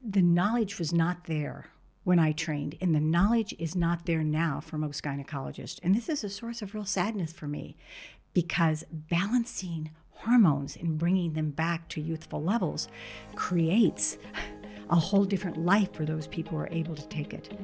the knowledge was not there when I trained, and the knowledge is not there now for most gynecologists. And this is a source of real sadness for me, because balancing hormones and bringing them back to youthful levels creates a whole different life for those people who are able to take it.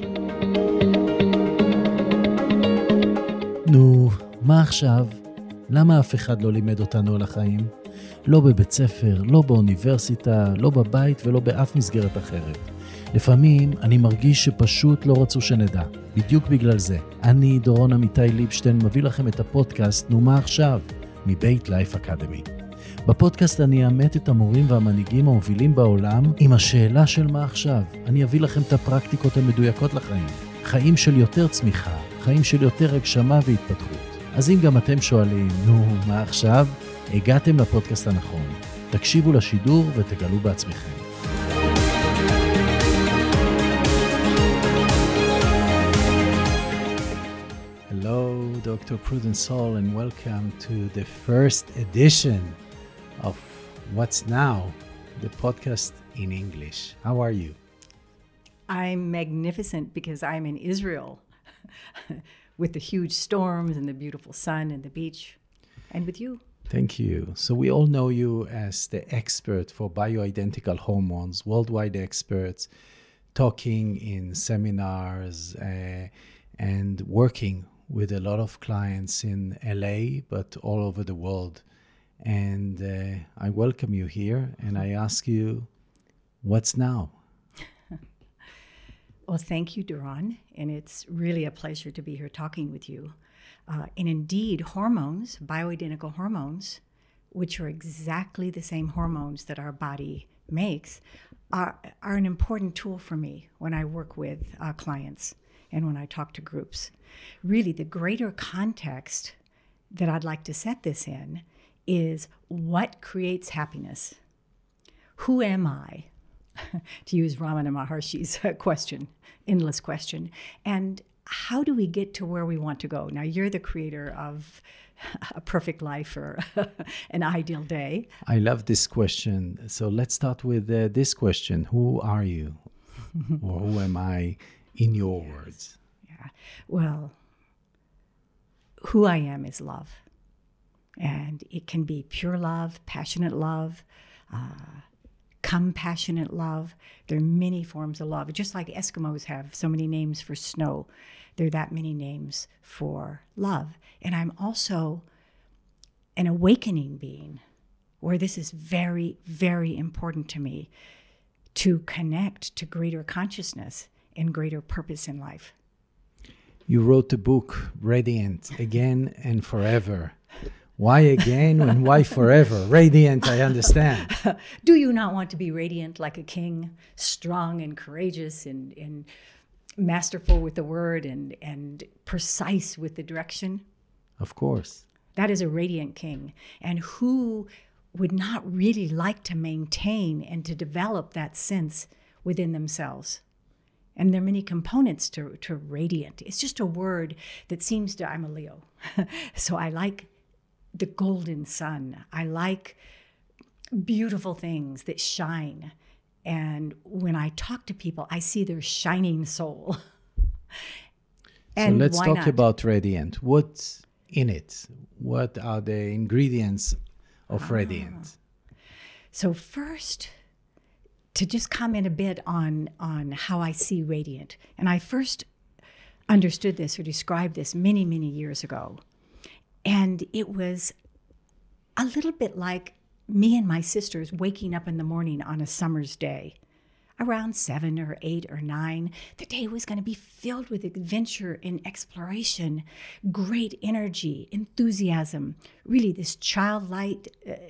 נו, מה עכשיו? למה אף אחד לא לימד אותנו על החיים? לא בבית ספר, לא באוניברסיטה, לא בבית ולא באף מסגרת אחרת. לפעמים אני מרגיש שפשוט לא רצו שנדע. בדיוק בגלל זה. אני, דורון אמיתי ליבשטיין, מביא לכם את הפודקאסט נו מה עכשיו? מבית לייף אקדמי. בפודקאסט אני אאמת את המורים והמנהיגים המובילים בעולם עם השאלה של מה עכשיו. אני אביא לכם את הפרקטיקות המדויקות לחיים. חיים של יותר צמיחה, חיים של יותר הגשמה והתפתחות. אז אם גם אתם שואלים, נו, מה עכשיו? הגעתם לפודקאסט הנכון. תקשיבו לשידור ותגלו בעצמכם. Hello, Dr. Prudence Saul, and welcome to the first edition of What's Now, the podcast in English. How are you? I'm magnificent because I'm in Israel with the huge storms and the beautiful sun and the beach, and with you. Thank you. So we all know you as the expert for bioidentical hormones, worldwide experts, talking in seminars and working with a lot of clients in LA, but all over the world. And I welcome you here and I ask you, what's now? Well, thank you, Duran, and it's really a pleasure to be here talking with you. And indeed, hormones, bioidentical hormones, which are exactly the same hormones that our body makes, are an important tool for me when I work with clients and when I talk to groups. Really, the greater context that I'd like to set this in is what creates happiness? Who am I? To use Ramana Maharshi's question, endless question. And how do we get to where we want to go? Now, you're the creator of a perfect life or an ideal day. I love this question. So let's start with this question. Who are you? Or who am I in your words? Yeah. Well, who I am is love. And it can be pure love, passionate love, compassionate love. There are many forms of love. Just like Eskimos have so many names for snow, there are that many names for love. And I'm also an awakening being, where this is very, very important to me, to connect to greater consciousness and greater purpose in life. You wrote the book, Radiant, Again and Forever. Why again and why forever? Radiant, I understand. Do you not want to be radiant like a king, strong and courageous and masterful with the word and precise with the direction? Of course. That is a radiant king. And who would not really like to maintain and to develop that sense within themselves? And there are many components to radiant. It's just a word that seems to, I'm a Leo, so I like the golden sun. I like beautiful things that shine. And when I talk to people, I see their shining soul. And so let's talk about Radiant. What's in it? What are the ingredients of Radiant? So first, to just comment a bit on how I see Radiant. And I first understood this or described this many, many years ago. And it was a little bit like me and my sisters waking up in the morning on a summer's day. Around 7 or 8 or 9, the day was going to be filled with adventure and exploration, great energy, enthusiasm, really this childlike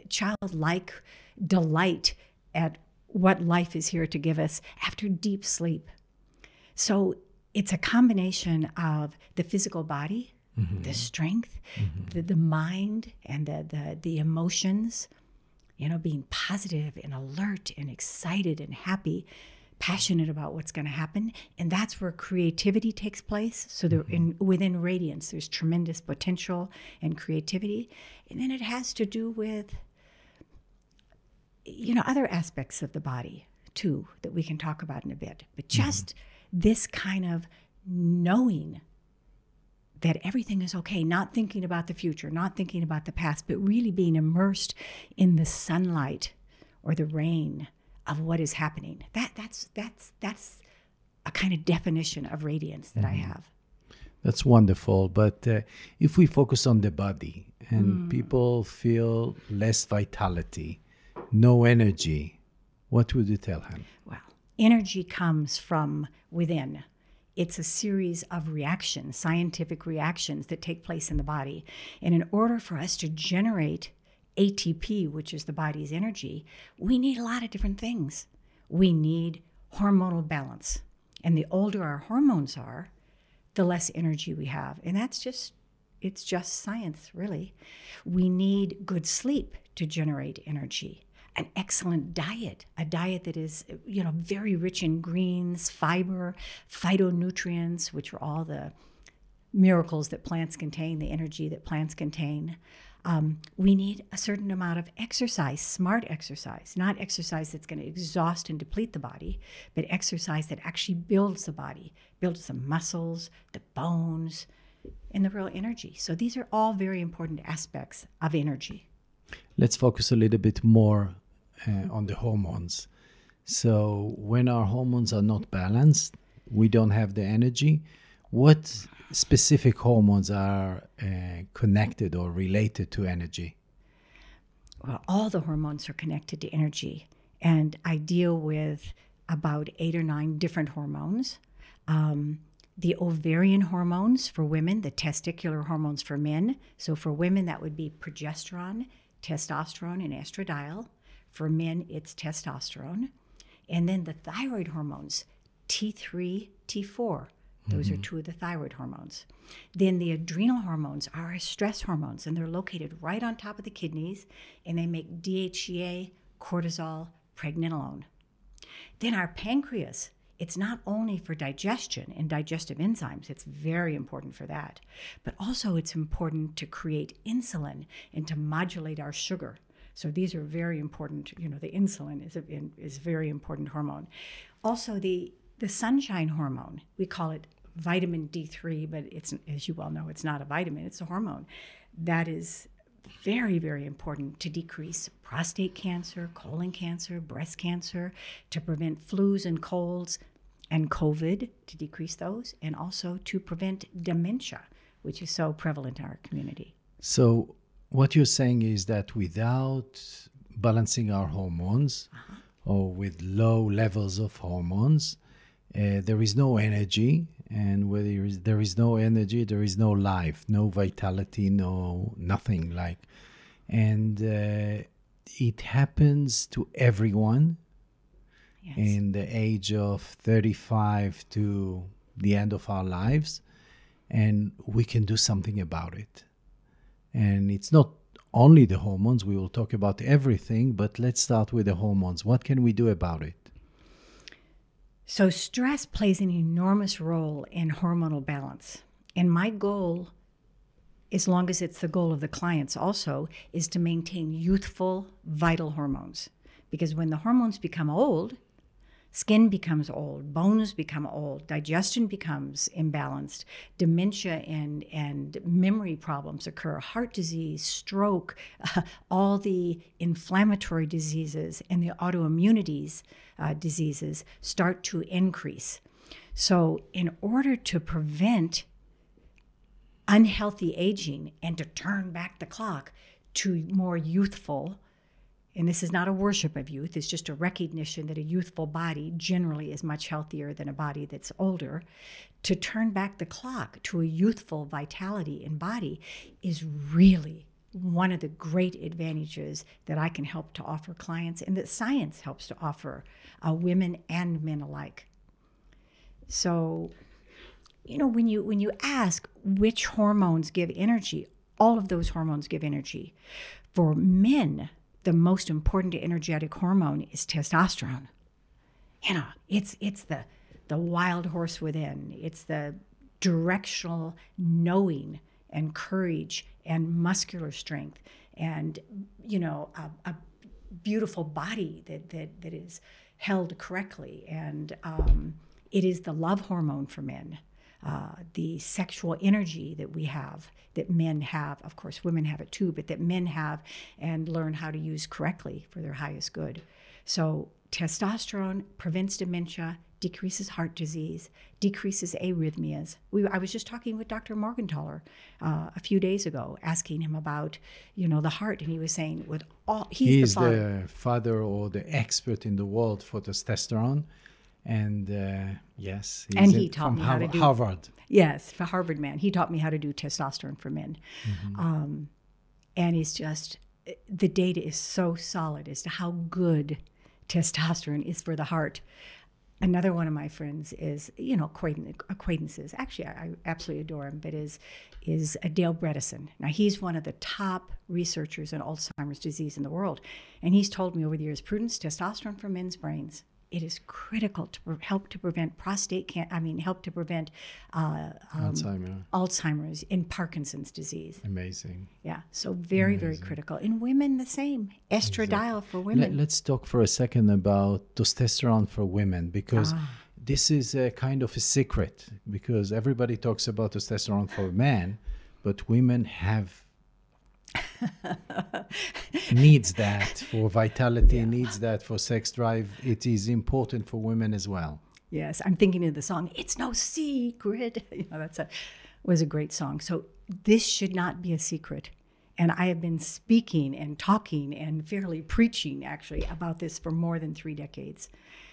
delight at what life is here to give us after deep sleep. So it's a combination of the physical body, mm-hmm. the strength, mm-hmm. the mind, and the emotions, being positive and alert and excited and happy, passionate about what's going to happen. And that's where creativity takes place. So within Radiance, there's tremendous potential and creativity. And then it has to do with, other aspects of the body, too that we can talk about in a bit. But just this kind of knowing that everything is okay, not thinking about the future, not thinking about the past, but really being immersed in the sunlight or the rain of what is happening. That's a kind of definition of radiance that I have. That's wonderful. But if we focus on the body and people feel less vitality, no energy, what would you tell him? Well, energy comes from within. It's a series of reactions, scientific reactions that take place in the body. And in order for us to generate ATP, which is the body's energy, we need a lot of different things. We need hormonal balance. And the older our hormones are, the less energy we have. And it's just science, really. We need good sleep to generate energy. An excellent diet, a diet that is, very rich in greens, fiber, phytonutrients, which are all the miracles that plants contain, the energy that plants contain. We need a certain amount of exercise, smart exercise, not exercise that's going to exhaust and deplete the body, but exercise that actually builds the body, builds the muscles, the bones, and the real energy. So these are all very important aspects of energy. Let's focus a little bit more on the hormones. So when our hormones are not balanced, we don't have the energy. What specific hormones are connected or related to energy? Well, all the hormones are connected to energy. And I deal with about 8 or 9 different hormones. The ovarian hormones for women, the testicular hormones for men. So for women, that would be progesterone, testosterone, and estradiol. For men, it's testosterone. And then the thyroid hormones, T3, T4. Those are 2 of the thyroid hormones. Then the adrenal hormones are our stress hormones, and they're located right on top of the kidneys, and they make DHEA, cortisol, pregnenolone. Then our pancreas, it's not only for digestion and digestive enzymes, it's very important for that, but also it's important to create insulin and to modulate our sugar. So these are very important. The insulin is a very important hormone. Also, the sunshine hormone, we call it vitamin D3, but it's, as you well know, it's not a vitamin, it's a hormone. That is very, very important to decrease prostate cancer, colon cancer, breast cancer, to prevent flus and colds and COVID, to decrease those, and also to prevent dementia, which is so prevalent in our community. So what you're saying is that without balancing our hormones or with low levels of hormones, there is no energy, and where there is no energy, there is no life, no vitality, nothing like. And it happens to everyone in the age of 35 to the end of our lives, and we can do something about it. And it's not only the hormones, we will talk about everything, but let's start with the hormones. What can we do about it? So stress plays an enormous role in hormonal balance. And my goal, as long as it's the goal of the clients also, is to maintain youthful, vital hormones. Because when the hormones become old, skin becomes old, bones become old, digestion becomes imbalanced, dementia and memory problems occur, heart disease, stroke, all the inflammatory diseases and the autoimmunities diseases start to increase. So in order to prevent unhealthy aging and to turn back the clock to more youthful, and this is not a worship of youth, it's just a recognition that a youthful body generally is much healthier than a body that's older. To turn back the clock to a youthful vitality in body is really one of the great advantages that I can help to offer clients and that science helps to offer women and men alike. So, when you ask which hormones give energy, all of those hormones give energy. For men, the most important energetic hormone is testosterone. It's the wild horse within. It's the directional knowing and courage and muscular strength and, beautiful body that is held correctly. And it is the love hormone for men, the sexual energy that we have, that men have. Of course, women have it too, but that men have and learn how to use correctly for their highest good. So testosterone prevents dementia, decreases heart disease, decreases arrhythmias. I was just talking with Dr. Morgenthaler a few days ago, asking him about, the heart, and he was saying, he's the father or the expert in the world for testosterone, and yes, he taught me how to do Harvard. Yes, for Harvard man, he taught me how to do testosterone for men, and it's just the data is so solid as to how good testosterone is for the heart. Another one of my friends is, acquaintances. Actually, I absolutely adore him, but is Dale Bredesen. Now, he's one of the top researchers in Alzheimer's disease in the world. And he's told me over the years, Prudence, testosterone for men's brains, it is critical to help to prevent help to prevent Alzheimer's and Parkinson's disease. Amazing. Yeah, so very, very critical. In women, the same. Estradiol for women. Let's talk for a second about testosterone for women, because this is a kind of a secret, because everybody talks about testosterone for men, but women have needs that for vitality, needs that for sex drive. It is important for women as well. Yes, I'm thinking of the song, It's No Secret. Was a great song. So this should not be a secret. And I have been speaking and talking and fairly preaching, actually, about this for more than 3 decades.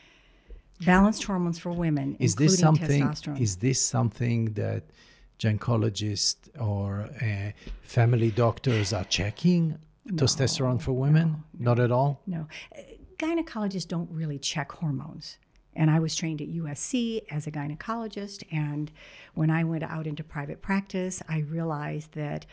Balanced hormones for women, including testosterone. Is this something that gynecologists or family doctors are checking? Testosterone for women? No. Not at all? No. Gynecologists don't really check hormones. And I was trained at USC as a gynecologist. And when I went out into private practice, I realized that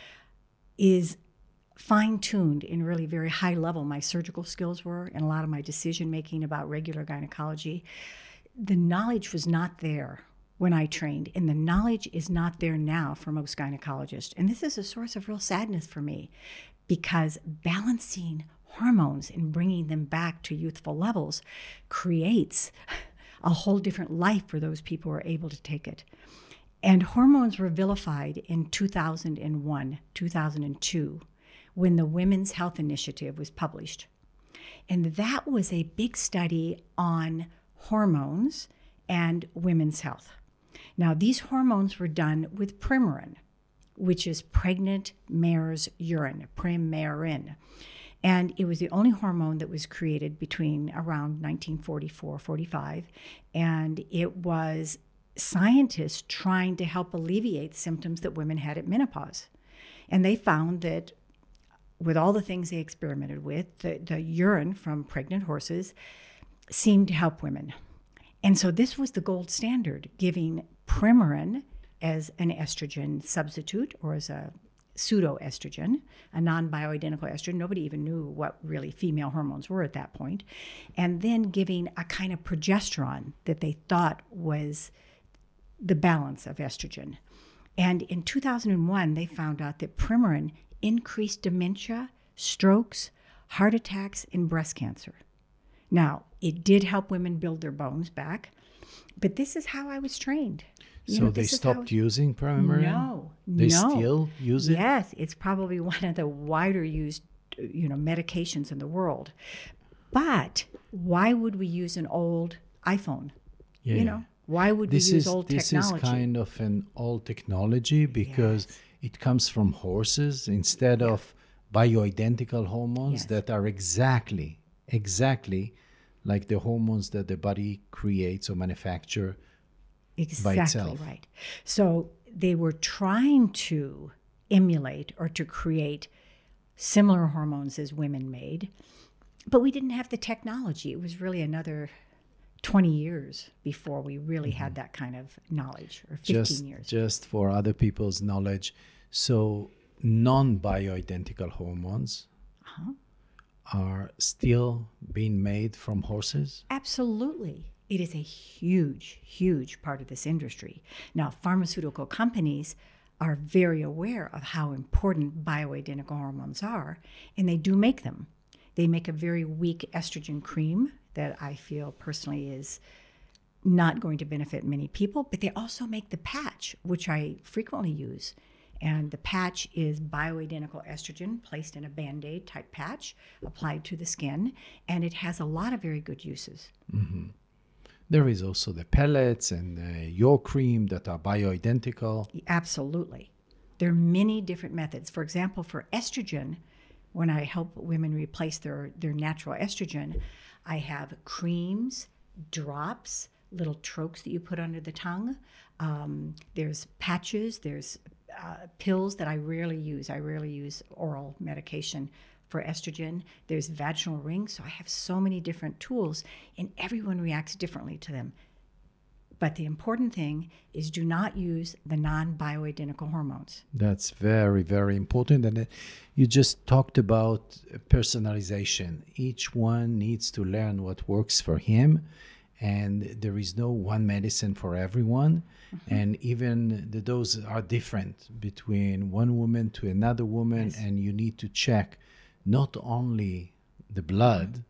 is fine-tuned in really very high level my surgical skills were, and a lot of my decision-making about regular gynecology. The knowledge was not there when I trained, and the knowledge is not there now for most gynecologists. And this is a source of real sadness for me, because balancing hormones and bringing them back to youthful levels creates a whole different life for those people who are able to take it. And hormones were vilified in 2001, 2002, when the Women's Health Initiative was published. And that was a big study on hormones and women's health. Now, these hormones were done with Premarin, which is pregnant mare's urine, Premarin. And it was the only hormone that was created between around 1944-45. And it was scientists trying to help alleviate symptoms that women had at menopause. And they found that with all the things they experimented with, the urine from pregnant horses seemed to help women. And so this was the gold standard, giving Premarin as an estrogen substitute or as a pseudoestrogen, a non-bioidentical estrogen. Nobody even knew what really female hormones were at that point. And then giving a kind of progesterone that they thought was the balance of estrogen. And in 2001, they found out that Premarin increased dementia, strokes, heart attacks, and breast cancer. Now, it did help women build their bones back, but this is how I was trained. So they stopped using Premarin? No. They still use it? Yes, it's probably one of the wider used, medications in the world. But why would we use an old iPhone? Yeah. Why would we use old technology? This is kind of an old technology because it comes from horses instead of bioidentical hormones that are exactly like the hormones that the body creates or manufactures by itself. Exactly right. So they were trying to emulate or to create similar hormones as women made, but we didn't have the technology. It was really another 20 years before we really had that kind of knowledge, or 15 years. Just for other people's knowledge, so non-bioidentical hormones are still being made from horses? Absolutely. It is a huge, huge part of this industry. Now, pharmaceutical companies are very aware of how important bioidentical hormones are, and they do make them. They make a very weak estrogen cream that I feel personally is not going to benefit many people, but they also make the patch, which I frequently use. And the patch is bioidentical estrogen placed in a Band-Aid type patch applied to the skin, and it has a lot of very good uses. Mm-hmm. There is also the pellets and your cream that are bioidentical. Absolutely. There are many different methods. For example, for estrogen, when I help women replace their natural estrogen, I have creams, drops, little trokes that you put under the tongue. There's patches, there's pills that I rarely use. I rarely use oral medication for estrogen. There's vaginal rings. So I have so many different tools, and everyone reacts differently to them. But the important thing is do not use the non-bioidentical hormones. That's very, very important. And you just talked about personalization. Each one needs to learn what works for him. And there is no one medicine for everyone. Mm-hmm. And even the doses are different between one woman to another woman. Yes. And you need to check not only the blood,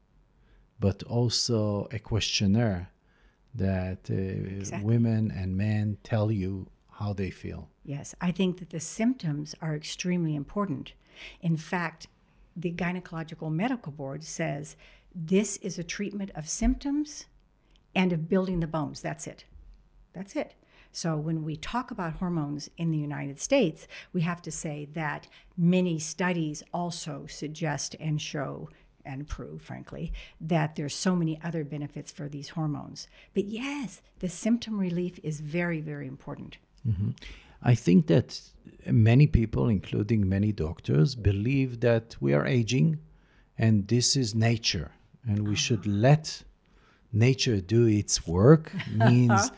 but also a questionnaire that exactly. Women and men tell you how they feel. Yes, I think that the symptoms are extremely important. In fact, the Gynecological Medical Board says this is a treatment of symptoms and of building the bones. That's it. That's it. So when we talk about hormones in the United States, we have to say that many studies also suggest and show and prove, frankly, that there's so many other benefits for these hormones. But yes, the symptom relief is very, very important. Mm-hmm. I think that many people, including many doctors, believe that we are aging and this is nature and we should let nature do its work. Means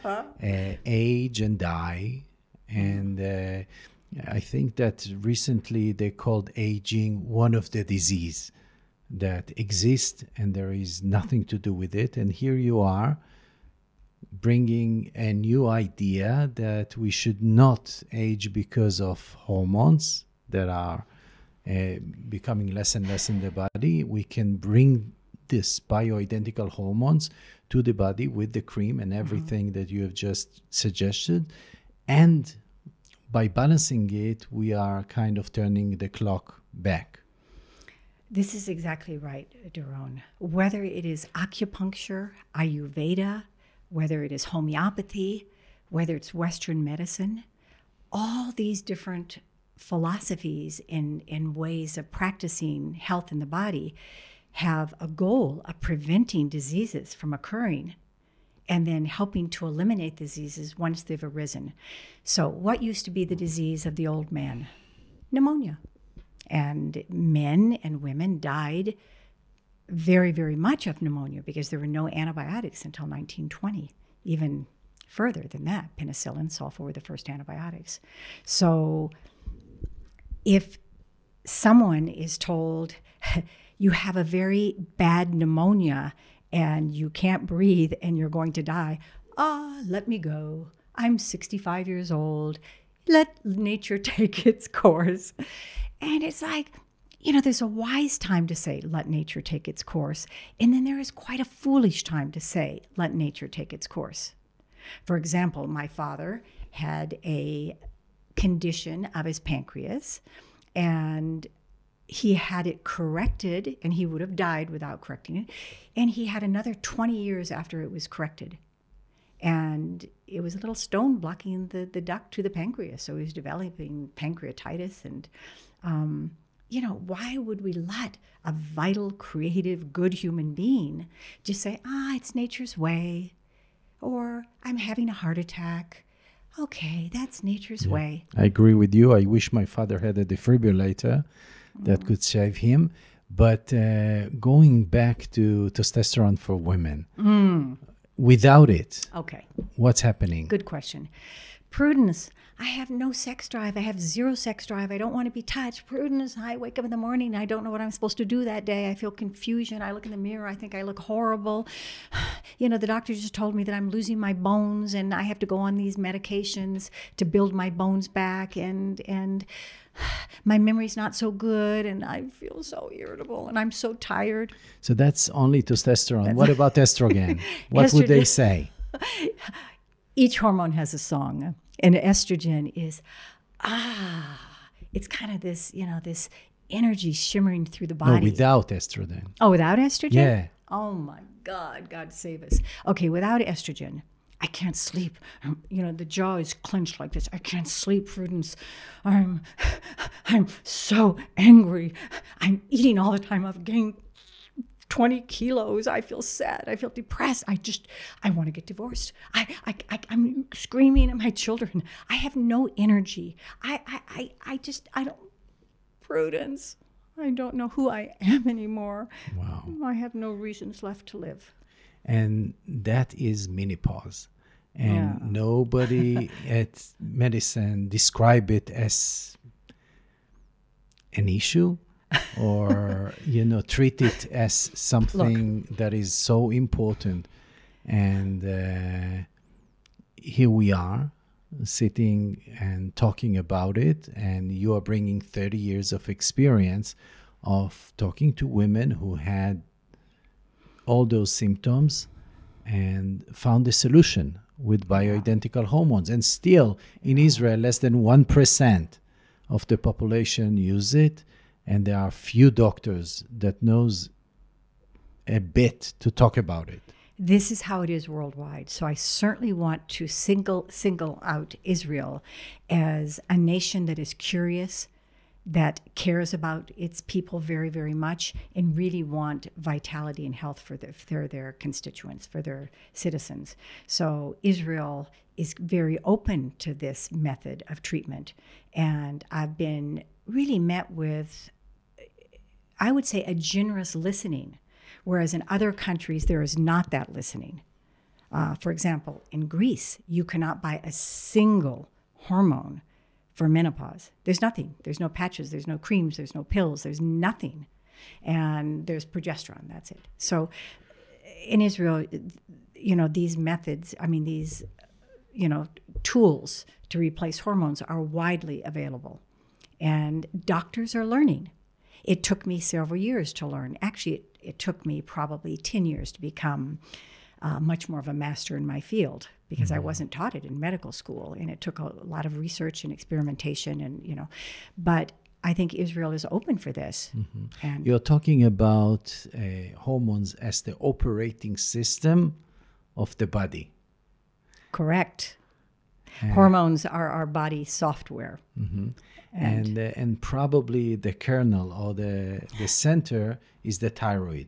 age and die. And I think that recently they called aging one of the disease that exists and there is nothing to do with it. And here you are bringing a new idea that we should not age because of hormones that are becoming less and less in the body. We can bring this bioidentical hormones to the body with the cream and everything that you have just suggested. And by balancing it, we are kind of turning the clock back. This is exactly right, Doron. Whether it is acupuncture, Ayurveda, whether it is homeopathy, whether it's Western medicine, all these different philosophies in ways of practicing health in the body have a goal of preventing diseases from occurring and then helping to eliminate diseases once they've arisen. So what used to be the disease of the old man? Pneumonia. And men and women died very, very much of pneumonia because there were no antibiotics until 1920, even further than that. Penicillin, sulfa were the first antibiotics. So if someone is told, you have a very bad pneumonia and you can't breathe and you're going to die, let me go. I'm 65 years old. Let nature take its course. And it's like, there's a wise time to say, let nature take its course. And then there is quite a foolish time to say, let nature take its course. For example, my father had a condition of his pancreas, and he had it corrected, and he would have died without correcting it. And he had another 20 years after it was corrected. And it was a little stone blocking the duct to the pancreas. So he was developing pancreatitis. And, why would we let a vital, creative, good human being just say, it's nature's way, or I'm having a heart attack. Okay, that's nature's way. I agree with you. I wish my father had a defibrillator that could save him. But going back to testosterone for women, without it, what's happening? Good question. Prudence. I have no sex drive. I have zero sex drive. I don't want to be touched. Prudence. I wake up in the morning. I don't know what I'm supposed to do that day. I feel confusion. I look in the mirror. I think I look horrible. The doctor just told me that I'm losing my bones and I have to go on these medications to build my bones back. And my memory's not so good and I feel so irritable and I'm so tired. So that's only testosterone. What about estrogen? What would they say? Each hormone has a song, and estrogen is, it's kind of this, this energy shimmering through the body. No, without estrogen. Oh, without estrogen? Yeah. Oh my God, God save us. Okay, without estrogen, I can't sleep. The jaw is clenched like this. I can't sleep, Prudence. I'm so angry. I'm eating all the time. I've gained 20 kilos. I feel sad. I feel depressed. I want to get divorced. I'm screaming at my children. I have no energy. I don't, Prudence, I don't know who I am anymore. Wow. I have no reasons left to live. And that is menopause. And nobody at medicine describe it as an issue or, treat it as something that is so important. And here we are sitting and talking about it. And you are bringing 30 years of experience of talking to women who had all those symptoms and found a solution with bioidentical hormones. And still, in Israel, less than 1% of the population use it. And there are few doctors that knows a bit to talk about it. This is how it is worldwide. So I certainly want to single out Israel as a nation that is curious, that cares about its people very, very much, and really want vitality and health for their constituents, for their citizens. So Israel is very open to this method of treatment. And I've been really met with, I would say, a generous listening, whereas in other countries, there is not that listening. For example, in Greece, you cannot buy a single hormone for menopause. There's nothing. There's no patches. There's no creams. There's no pills. There's nothing. And there's progesterone. That's it. So in Israel, these methods, these, tools to replace hormones are widely available. And doctors are learning. It took me several years to learn. Actually, it took me probably 10 years to become much more of a master in my field, because I wasn't taught it in medical school, and it took a lot of research and experimentation, and but I think Israel is open for this. Mm-hmm. And you're talking about hormones as the operating system of the body. Correct. Hormones are our body software. Mm-hmm. And probably the kernel or the center is the thyroid.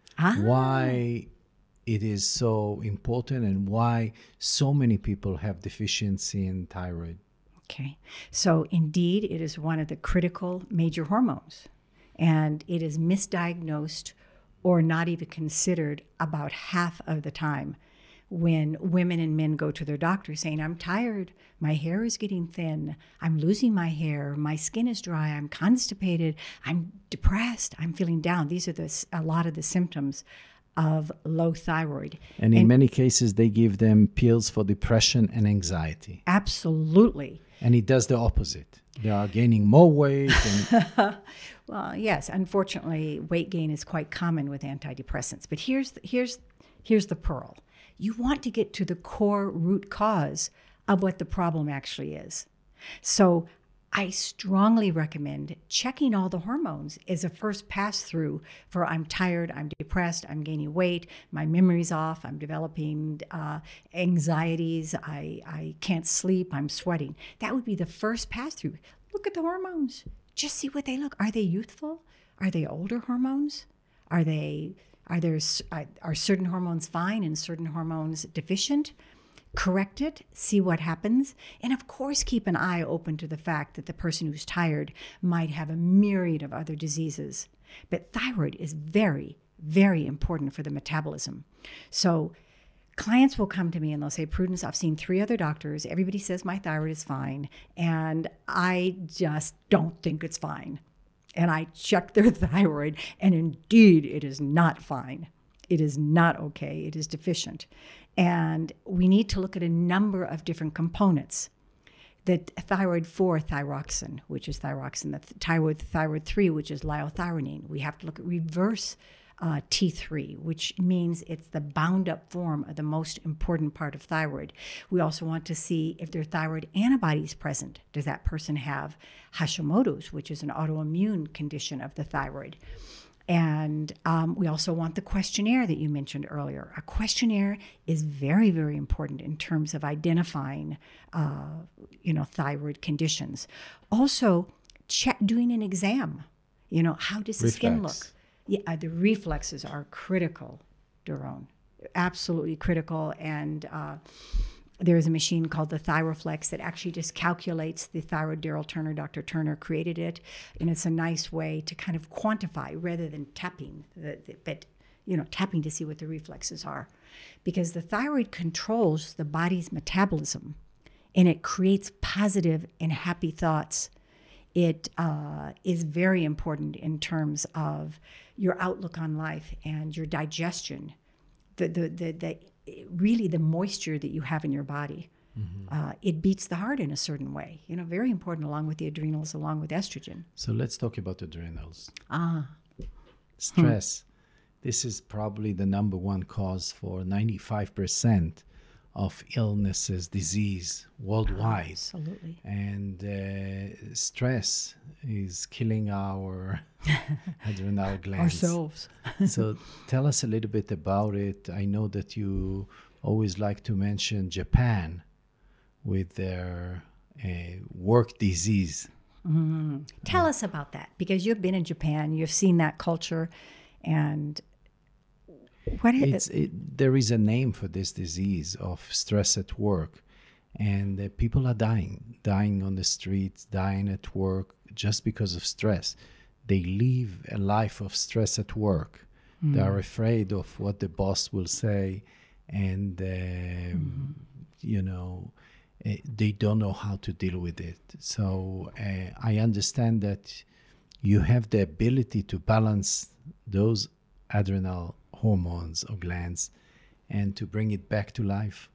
Why it is so important and why so many people have deficiency in thyroid. Okay. So indeed, it is one of the critical major hormones, and it is misdiagnosed or not even considered about half of the time when women and men go to their doctor saying, I'm tired, my hair is getting thin, I'm losing my hair, my skin is dry, I'm constipated, I'm depressed, I'm feeling down. These are a lot of the symptoms of low thyroid. And in many cases, they give them pills for depression and anxiety. Absolutely. And it does the opposite. They are gaining more weight. And well, yes, unfortunately, weight gain is quite common with antidepressants. But here's the pearl. You want to get to the core root cause of what the problem actually is. So I strongly recommend checking all the hormones as a first pass through for I'm tired, I'm depressed, I'm gaining weight, my memory's off, I'm developing anxieties, I can't sleep, I'm sweating. That would be the first pass through. Look at the hormones. Just see what they look. Are they youthful? Are they older hormones? Are certain hormones fine and certain hormones deficient? Correct it, see what happens, and of course keep an eye open to the fact that the person who's tired might have a myriad of other diseases. But thyroid is very, very important for the metabolism. So clients will come to me and they'll say, Prudence, I've seen 3 other doctors. Everybody says my thyroid is fine, and I just don't think it's fine. And I checked their thyroid, and indeed, it is not fine. It is not okay. It is deficient. And we need to look at a number of different components. the thyroid 4 thyroxine, which is thyroxine, the thyroid 3, which is liothyronine. We have to look at reverse T3, which means it's the bound up form of the most important part of thyroid. We also want to see if there are thyroid antibodies present. Does that person have Hashimoto's, which is an autoimmune condition of the thyroid? And we also want the questionnaire that you mentioned earlier. A questionnaire is very, very important in terms of identifying, thyroid conditions. Also, doing an exam. How does the skin look? Yeah, the reflexes are critical, Doron. Absolutely critical. And there is a machine called the Thyroflex that actually just calculates the thyroid. Daryl Turner, Dr. Turner created it. And it's a nice way to kind of quantify rather than tapping, tapping to see what the reflexes are. Because the thyroid controls the body's metabolism and it creates positive and happy thoughts. It is very important in terms of your outlook on life and your digestion, really the moisture that you have in your body. Mm-hmm. It beats the heart in a certain way, very important, along with the adrenals, along with estrogen. So let's talk about adrenals. Stress. This is probably the number one cause for 95% of illnesses, disease worldwide. Absolutely. And stress is killing our adrenal glands. Ourselves. So tell us a little bit about it. I know that you always like to mention Japan with their work disease. Mm-hmm. Tell us about that, because you've been in Japan, you've seen that culture, and there is a name for this disease of stress at work, and people are dying on the streets, dying at work just because of stress. They live a life of stress at work. Mm. They are afraid of what the boss will say, and they don't know how to deal with it. So I understand that you have the ability to balance those adrenal hormones or glands and to bring it back to life.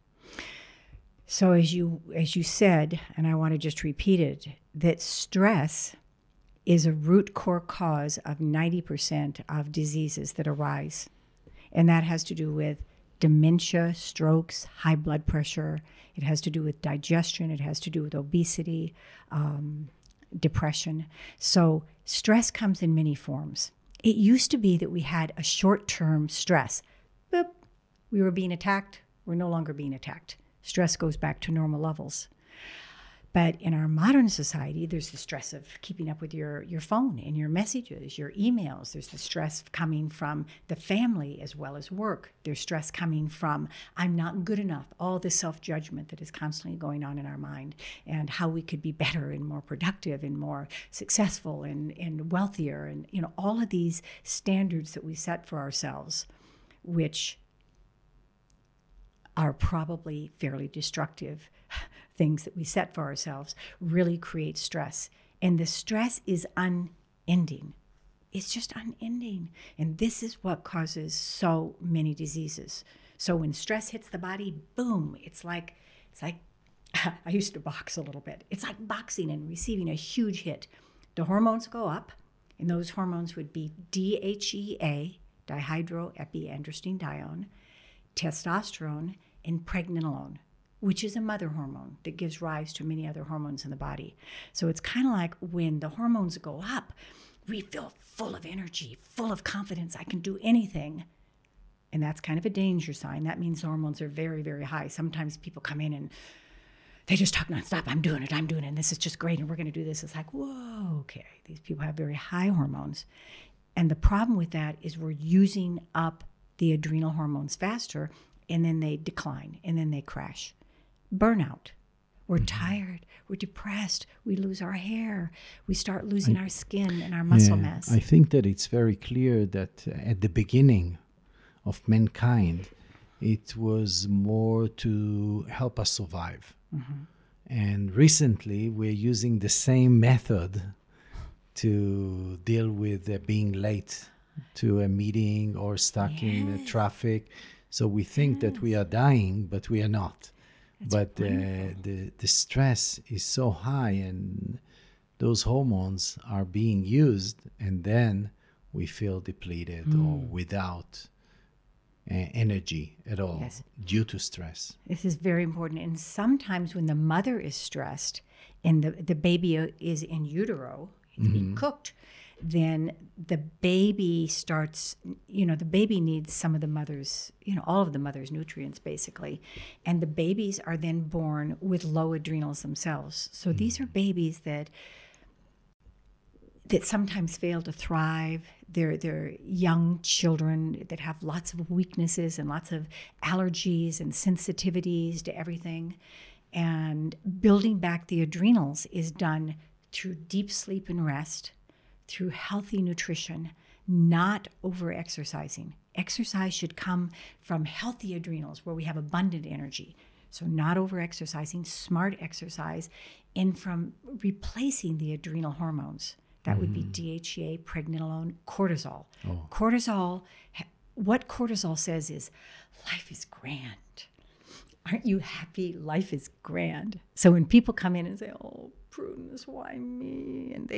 So as you said, and I want to just repeat it, that stress is a root core cause of 90% of diseases that arise. And that has to do with dementia, strokes, high blood pressure. It has to do with digestion. It has to do with obesity, depression. So stress comes in many forms. It used to be that we had a short-term stress. Boop, we were being attacked. We're no longer being attacked. Stress goes back to normal levels. But in our modern society, there's the stress of keeping up with your phone and your messages, your emails. There's the stress coming from the family as well as work. There's stress coming from, I'm not good enough, all the self-judgment that is constantly going on in our mind, and how we could be better and more productive and more successful and wealthier, and all of these standards that we set for ourselves, which are probably fairly destructive things that we set for ourselves, really create stress. And the stress is unending. It's just unending. And this is what causes so many diseases. So when stress hits the body, boom, it's like I used to box a little bit. It's like boxing and receiving a huge hit. The hormones go up, and those hormones would be DHEA, dihydroepiandrosterone, testosterone, and pregnenolone, which is a mother hormone that gives rise to many other hormones in the body. So it's kind of like when the hormones go up, we feel full of energy, full of confidence. I can do anything. And that's kind of a danger sign. That means the hormones are very, very high. Sometimes people come in and they just talk nonstop. I'm doing it. And this is just great. And we're going to do this. It's like, whoa, okay. These people have very high hormones. And the problem with that is we're using up the adrenal hormones faster, and then they decline, and then they crash. Burnout. We're tired. We're depressed. We lose our hair. We start losing our skin and our muscle mass. I think that it's very clear that at the beginning of mankind, it was more to help us survive. Mm-hmm. And recently, we're using the same method to deal with being late to a meeting or stuck in the traffic. So we think that we are dying, but we are not. But the stress is so high, and those hormones are being used, and then we feel depleted or without energy at all due to stress. This is very important. And sometimes when the mother is stressed and the baby is in utero, it's being cooked, then the baby starts, the baby needs some of the mother's, all of the mother's nutrients basically. And the babies are then born with low adrenals themselves. So these are babies that sometimes fail to thrive. They're young children that have lots of weaknesses and lots of allergies and sensitivities to everything. And building back the adrenals is done through deep sleep and rest, through healthy nutrition, not over-exercising. Exercise should come from healthy adrenals where we have abundant energy. So not over-exercising, smart exercise, and from replacing the adrenal hormones. That would be DHEA, pregnenolone, cortisol. Oh. Cortisol, what cortisol says is, life is grand. Aren't you happy? Life is grand. So when people come in and say, oh, Prudence, why me? And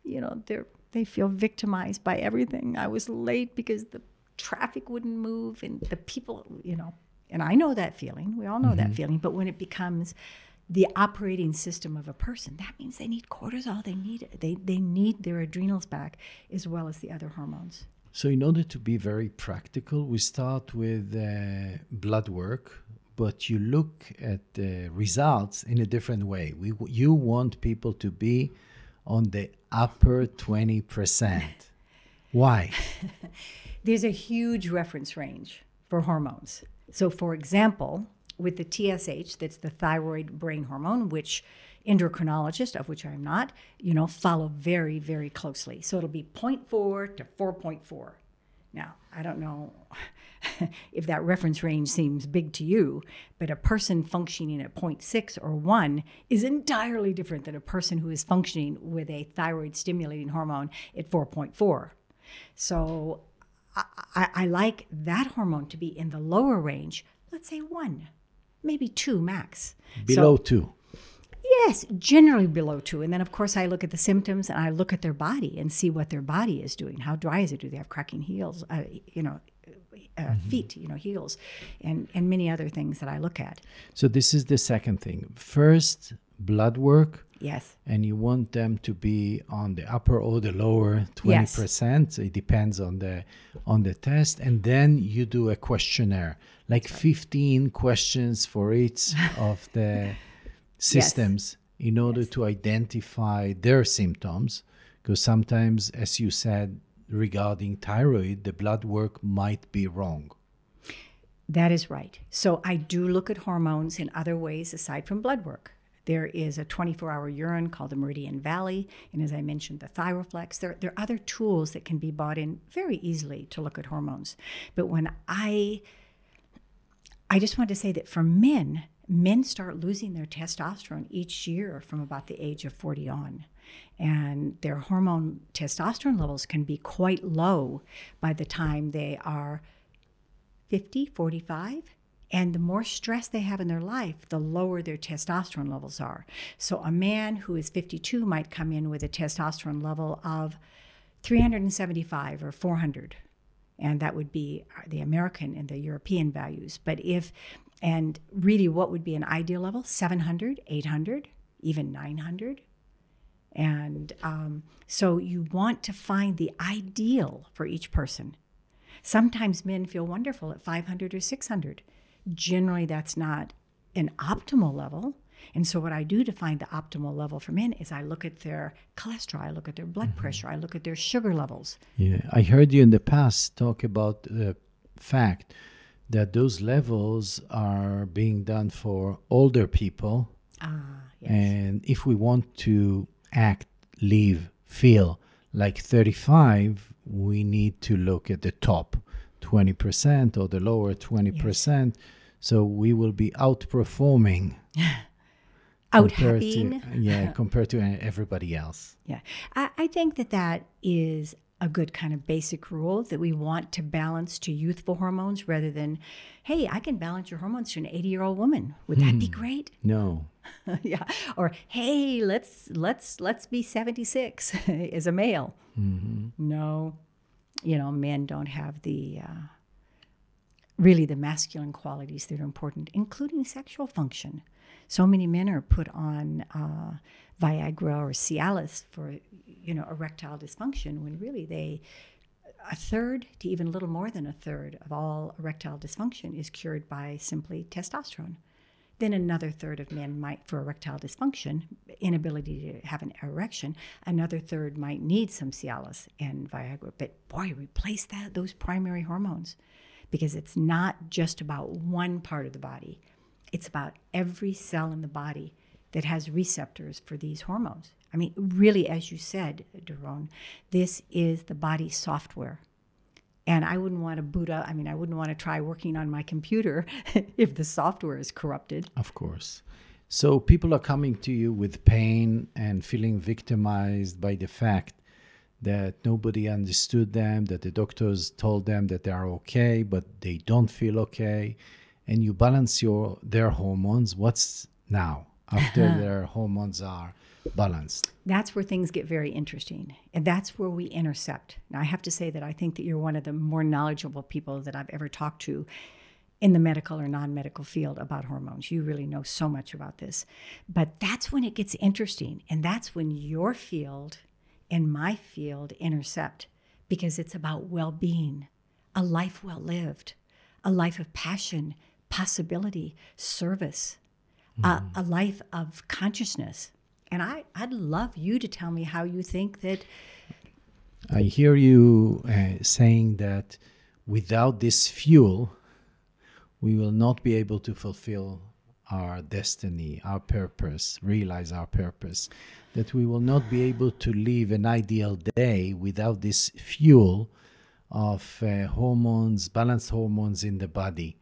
they feel victimized by everything. I was late because the traffic wouldn't move and the people, and I know that feeling. We all know that feeling. But when it becomes the operating system of a person, that means they need cortisol. They need their adrenals back as well as the other hormones. So in order to be very practical, we start with blood work, but you look at the results in a different way. You want people to be on the upper 20%. Why? There's a huge reference range for hormones. So for example, with the TSH, that's the thyroid brain hormone, which endocrinologists, of which I'm not, follow very, very closely. So it'll be 0.4 to 4.4. Now, I don't know if that reference range seems big to you, but a person functioning at 0.6 or 1 is entirely different than a person who is functioning with a thyroid stimulating hormone at 4.4. So I like that hormone to be in the lower range, let's say 1. Maybe 2 max. Below 2. Yes, generally below 2. And then, of course, I look at the symptoms and I look at their body and see what their body is doing. How dry is it? Do they have cracking heels? Feet, heels, and many other things that I look at. So this is the second thing. First, blood work. Yes. And you want them to be on the upper or the lower 20%. Yes. It depends on the test. And then you do a questionnaire, like 15 questions for each of the systems in order to identify their symptoms. Because sometimes, as you said, regarding thyroid, the blood work might be wrong. That is right. So I do look at hormones in other ways aside from blood work. There is a 24-hour urine called the Meridian Valley, and as I mentioned, the Thyroflex. There are other tools that can be bought in very easily to look at hormones. But when I just want to say that for men start losing their testosterone each year from about the age of 40 on. And their hormone testosterone levels can be quite low by the time they are 50, 45. And the more stress they have in their life, the lower their testosterone levels are. So a man who is 52 might come in with a testosterone level of 375 or 400. And that would be the American and the European values. And really what would be an ideal level? 700, 800, even 900. And so you want to find the ideal for each person. Sometimes men feel wonderful at 500 or 600. Generally, that's not an optimal level. And so what I do to find the optimal level for men is I look at their cholesterol, I look at their blood pressure, I look at their sugar levels. Yeah, I heard you in the past talk about the fact that those levels are being done for older people. Yes. And if we want to act, live, feel like 35, we need to look at the top 20% or the lower 20%. Yes. So we will be outperforming. Out-happing. Compared to everybody else. Yeah. I think that is a good kind of basic rule that we want to balance to youthful hormones rather than, hey, I can balance your hormones to an 80-year-old woman. Would that be great? No. Yeah. Or, hey, let's be 76 as a male. Mm-hmm. No, men don't have the really the masculine qualities that are important, including sexual function. So many men are put on Viagra or Cialis for, erectile dysfunction, when really a third to even a little more than a third of all erectile dysfunction is cured by simply testosterone. Then another third of men might, for erectile dysfunction, inability to have an erection, another third might need some Cialis and Viagra. But boy, replace those primary hormones, because it's not just about one part of the body. It's about every cell in the body that has receptors for these hormones. I mean, really, as you said, Doron, this is the body's software. And I wouldn't want to boot up, I wouldn't want to try working on my computer if the software is corrupted. Of course. So people are coming to you with pain and feeling victimized by the fact that nobody understood them, that the doctors told them that they are okay, but they don't feel okay. And you balance their hormones. What's now after their hormones are balanced? That's where things get very interesting. And that's where we intercept. Now, I have to say that I think that you're one of the more knowledgeable people that I've ever talked to in the medical or non-medical field about hormones. You really know so much about this. But that's when it gets interesting. And that's when your field and my field intercept, because it's about well-being, a life well lived, a life of passion, possibility, service, a life of consciousness. And I'd love you to tell me how you think that. I hear you saying that without this fuel, we will not be able to fulfill our destiny, our purpose, realize our purpose, that we will not be able to live an ideal day without this fuel of hormones, balanced hormones in the body.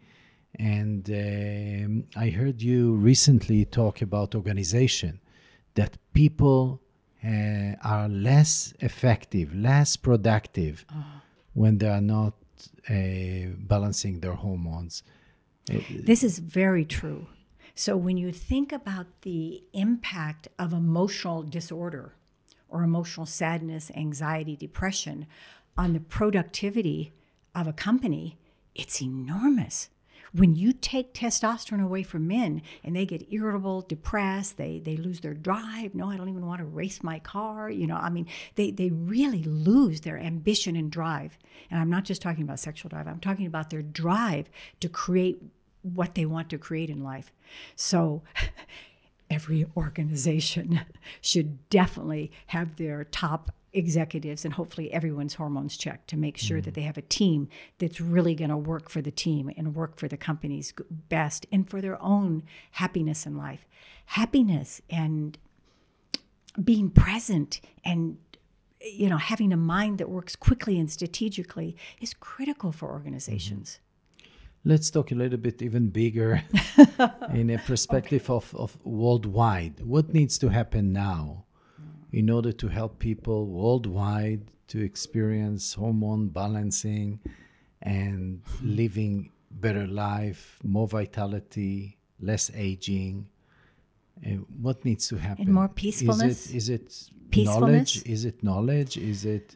And I heard you recently talk about organization, that people are less effective, less productive when they are not balancing their hormones. This is very true. So when you think about the impact of emotional disorder or emotional sadness, anxiety, depression on the productivity of a company, it's enormous. When you take testosterone away from men and they get irritable, depressed, they lose their drive. No, I don't even want to race my car. They really lose their ambition and drive. And I'm not just talking about sexual drive. I'm talking about their drive to create what they want to create in life. So every organization should definitely have their top executives and hopefully everyone's hormones checked to make sure that they have a team that's really going to work for the team and work for the company's best and for their own happiness in life. Happiness and being present and having a mind that works quickly and strategically is critical for organizations. Let's talk a little bit even bigger in a perspective of worldwide. What needs to happen now in order to help people worldwide to experience hormone balancing and living better life, more vitality, less aging? What needs to happen? And more peacefulness? Is it peacefulness? knowledge? Is it knowledge? Is it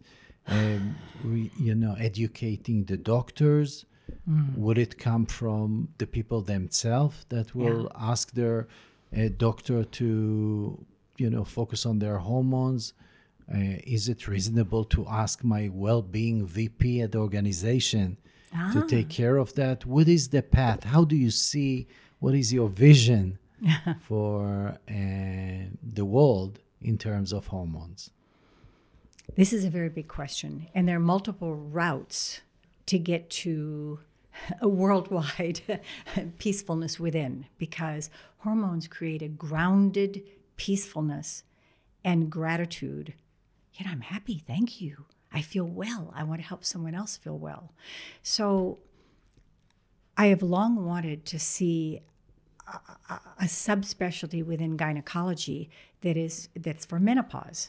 educating the doctors? Would it come from the people themselves that will ask their doctor to focus on their hormones? Is it reasonable to ask my well-being VP at the organization to take care of that? What is the path? How do you see, what is your vision for the world in terms of hormones? This is a very big question. And there are multiple routes to get to a worldwide peacefulness within, because hormones create a grounded peacefulness and gratitude. I'm happy, thank you. I feel well. I want to help someone else feel well. So I have long wanted to see a subspecialty within gynecology that's for menopause.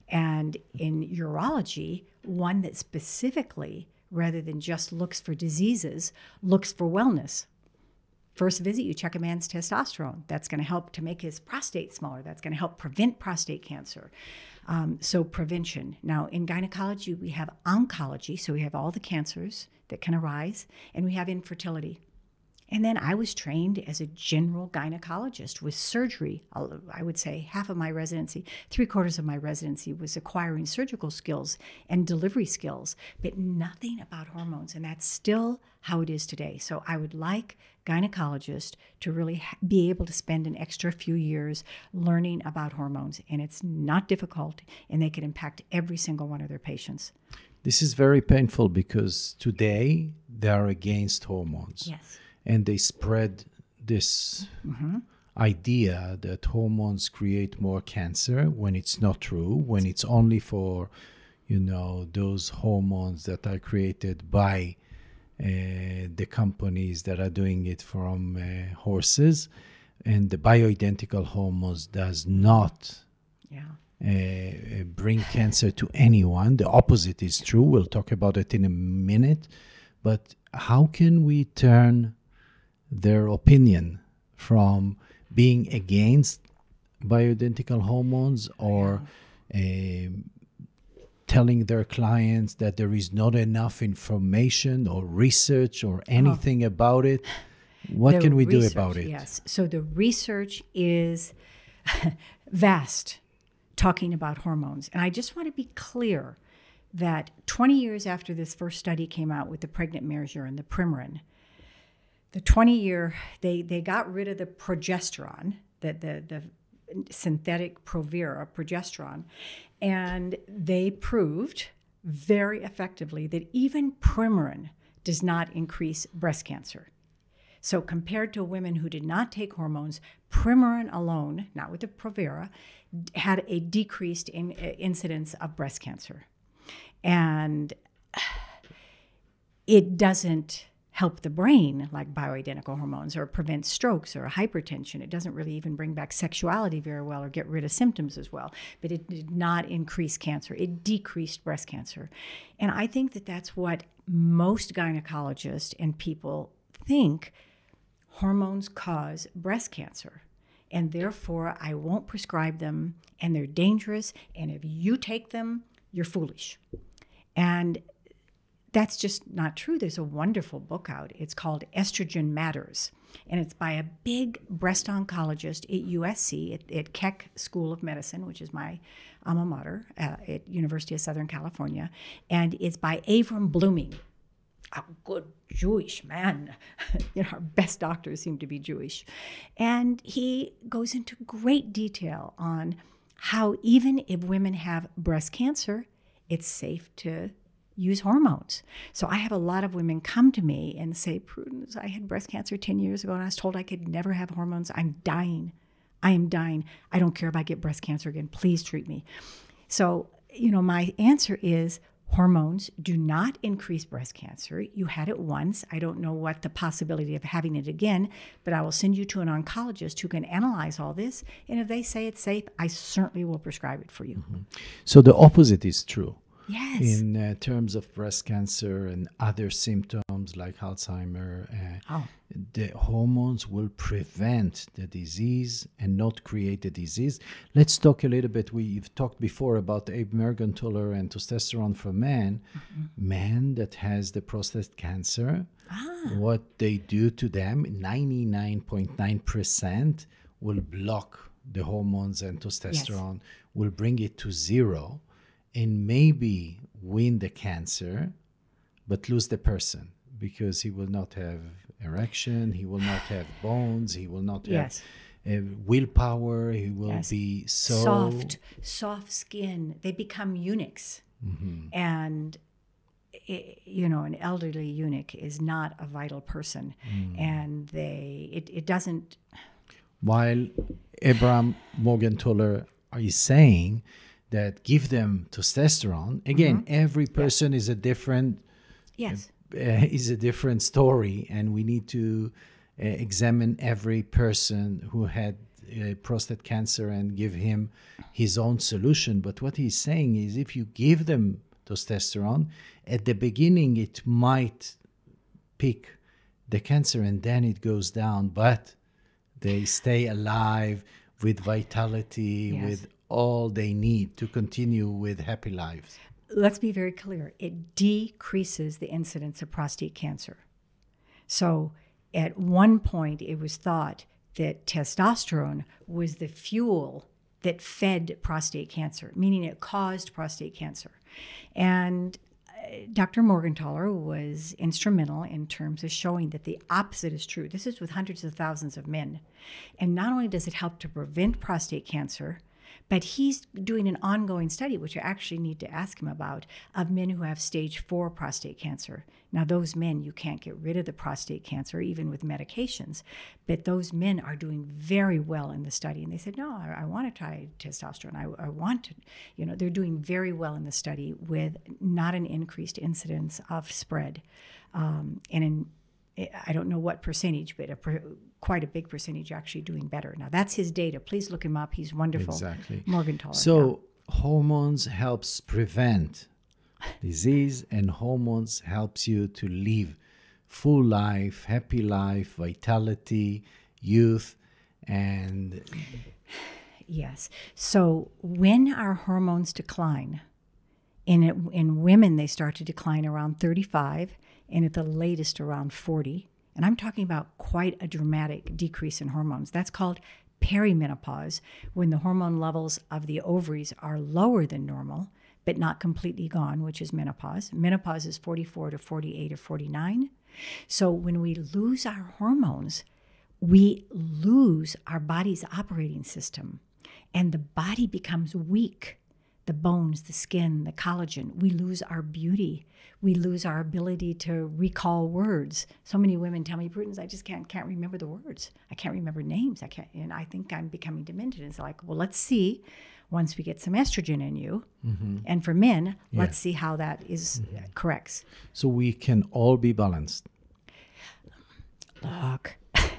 And in urology, one that specifically, rather than just looks for diseases, looks for wellness. First visit, you check a man's testosterone. That's going to help to make his prostate smaller. That's going to help prevent prostate cancer. So prevention. Now, in gynecology, we have oncology, so we have all the cancers that can arise, and we have infertility. And then I was trained as a general gynecologist with surgery. I would say half of my residency, 3/4 of my residency was acquiring surgical skills and delivery skills, but nothing about hormones. And that's still how it is today. So I would like gynecologists to really be able to spend an extra few years learning about hormones. And it's not difficult, and they can impact every single one of their patients. This is very painful because today they are against hormones. Yes. And they spread this idea that hormones create more cancer when it's not true, when it's only for, those hormones that are created by the companies that are doing it from horses. And the bioidentical hormones does not bring cancer to anyone. The opposite is true. We'll talk about it in a minute. But how can we turn their opinion from being against bioidentical hormones or telling their clients that there is not enough information or research or anything about it? What can we do about it? Yes. So the research is vast, talking about hormones. And I just want to be clear that 20 years after this first study came out with the pregnant measure and the Premarin, the 20-year, they got rid of the progesterone, the synthetic Provera progesterone, and they proved very effectively that even Premarin does not increase breast cancer. So compared to women who did not take hormones, Premarin alone, not with the Provera, had a decreased incidence of breast cancer. And it doesn't help the brain like bioidentical hormones or prevent strokes or hypertension. It doesn't really even bring back sexuality very well or get rid of symptoms as well. But it did not increase cancer. It decreased breast cancer. And I think that that's what most gynecologists and people think. Hormones cause breast cancer. And therefore, I won't prescribe them, and they're dangerous. And if you take them, you're foolish. And that's just not true. There's a wonderful book out. It's called Estrogen Matters. And it's by a big breast oncologist at USC, at Keck School of Medicine, which is my alma mater at University of Southern California. And it's by Avram Blooming, a good Jewish man. Our best doctors seem to be Jewish. And he goes into great detail on how even if women have breast cancer, it's safe to use hormones. So I have a lot of women come to me and say, Prudence, I had breast cancer 10 years ago and I was told I could never have hormones. I'm dying. I am dying. I don't care if I get breast cancer again. Please treat me. So, my answer is hormones do not increase breast cancer. You had it once. I don't know what the possibility of having it again, but I will send you to an oncologist who can analyze all this. And if they say it's safe, I certainly will prescribe it for you. Mm-hmm. So the opposite is true. Yes. In terms of breast cancer and other symptoms like Alzheimer, the hormones will prevent the disease and not create the disease. Let's talk a little bit. We've talked before about the Abe Mergenthaler and testosterone for men. Mm-hmm. Men that has the prostate cancer, what they do to them, 99.9% will block the hormones and testosterone, will bring it to zero, and maybe win the cancer, but lose the person because he will not have erection, he will not have bones, he will not have willpower, he will be so... Soft skin. They become eunuchs. Mm-hmm. And, an elderly eunuch is not a vital person. And it doesn't... While Abraham Morgenthaler is saying that give them testosterone. Again, every person is a different story, and we need to examine every person who had prostate cancer and give him his own solution. But what he's saying is if you give them testosterone, at the beginning it might pick the cancer and then it goes down, but they stay alive with vitality, Yes. with all they need to continue with happy lives. Let's be very clear. It decreases the incidence of prostate cancer. So at one point, it was thought that testosterone was the fuel that fed prostate cancer, meaning it caused prostate cancer. And Dr. Morgentaler was instrumental in terms of showing that the opposite is true. This is with hundreds of thousands of men. And not only does it help to prevent prostate cancer, but he's doing an ongoing study, which I actually need to ask him about, of men who have stage 4 prostate cancer. Now, those men, you can't get rid of the prostate cancer, even with medications, but those men are doing very well in the study. And they said, no, I want to try testosterone. I want to, they're doing very well in the study with not an increased incidence of spread. I don't know what percentage, but quite a big percentage actually doing better. Now, that's his data. Please look him up. He's wonderful. Exactly. Morgentaler. So hormones helps prevent disease, and hormones helps you to live full life, happy life, vitality, youth, and... Yes. So when our hormones decline, in women, they start to decline around 35, and at the latest around 40. And I'm talking about quite a dramatic decrease in hormones. That's called perimenopause, when the hormone levels of the ovaries are lower than normal, but not completely gone, which is menopause. Menopause is 44 to 48 or 49. So when we lose our hormones, we lose our body's operating system, and the body becomes weak. The bones, the skin, the collagen, we lose our beauty. We lose our ability to recall words. So many women tell me, Prudence, I just can't remember the words. I can't remember names. And I think I'm becoming demented. It's like, well, let's see once we get some estrogen in you. Mm-hmm. And for men, let's see how that is corrects. So we can all be balanced. Look,